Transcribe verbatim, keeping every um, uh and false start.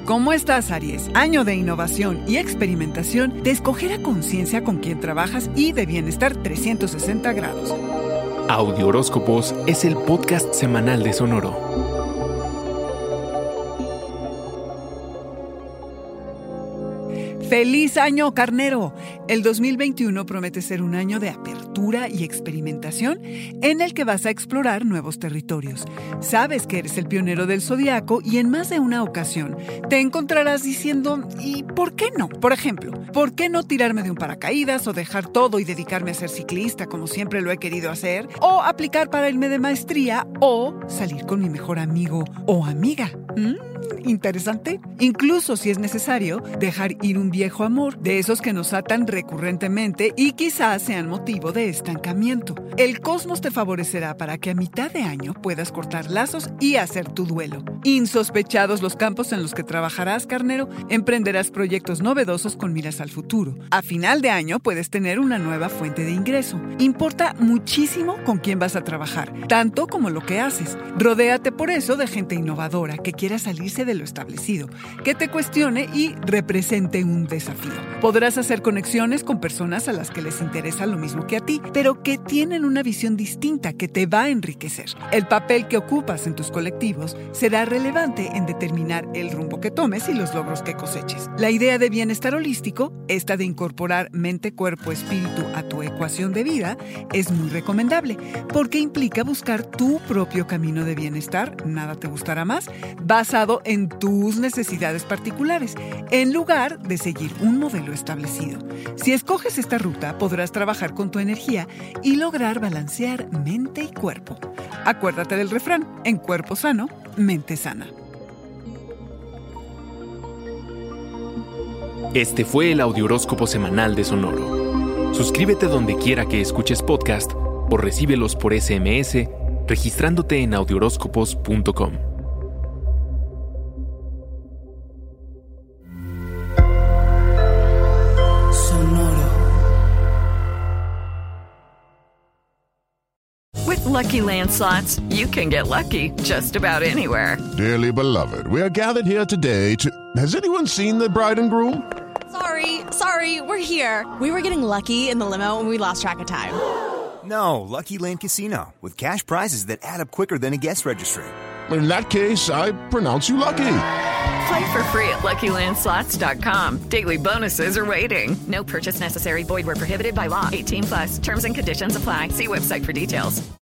¿Cómo estás, Aries? Año de innovación y experimentación, de escoger a conciencia con quién trabajas y de bienestar trescientos sesenta grados. Audio Horóscopos es el podcast semanal de Sonoro. ¡Feliz año, carnero! El dos mil veintiuno promete ser un año de apertura y experimentación en el que vas a explorar nuevos territorios. Sabes que eres el pionero del zodiaco y en más de una ocasión te encontrarás diciendo ¿y por qué no? Por ejemplo, ¿por qué no tirarme de un paracaídas o dejar todo y dedicarme a ser ciclista como siempre lo he querido hacer? O aplicar para irme de maestría o salir con mi mejor amigo o amiga. ¿Mm? Interesante. Incluso si es necesario, dejar ir un viejo amor, de esos que nos atan recurrentemente y quizás sean motivo de estancamiento. El cosmos te favorecerá para que a mitad de año puedas cortar lazos y hacer tu duelo. Insospechados los campos en los que trabajarás, carnero, emprenderás proyectos novedosos con miras al futuro. A final de año puedes tener una nueva fuente de ingreso. Importa muchísimo con quién vas a trabajar, tanto como lo que haces. Rodéate por eso de gente innovadora que quiera salirse de lo establecido, que te cuestione y represente un desafío. Podrás hacer conexiones con personas a las que les interesa lo mismo que a ti, pero que tienen una visión distinta que te va a enriquecer. El papel que ocupas en tus colectivos será relevante en determinar el rumbo que tomes y los logros que coseches. La idea de bienestar holístico, esta de incorporar mente, cuerpo, espíritu a tu ecuación de vida, es muy recomendable porque implica buscar tu propio camino de bienestar, nada te gustará más, basado en tus necesidades particulares, en lugar de seguir un modelo establecido. Si escoges esta ruta, podrás trabajar con tu energía y lograr balancear mente y cuerpo. Acuérdate del refrán, en cuerpo sano, mente sana. Este fue el Audiohoróscopo semanal de Sonoro. Suscríbete donde quiera que escuches podcast o recíbelos por ese eme ese registrándote en audiohoróscopos punto com. With Lucky Land Slots, you can get lucky just about anywhere. Dearly beloved, we are gathered here today to... Has anyone seen the bride and groom? Sorry, sorry, we're here. We were getting lucky in the limo and we lost track of time. No, Lucky Land Casino, with cash prizes that add up quicker than a guest registry. In that case, I pronounce you lucky. Play for free at lucky land slots dot com. Daily bonuses are waiting. No purchase necessary. Void where prohibited by law. eighteen plus. Terms and conditions apply. See website for details.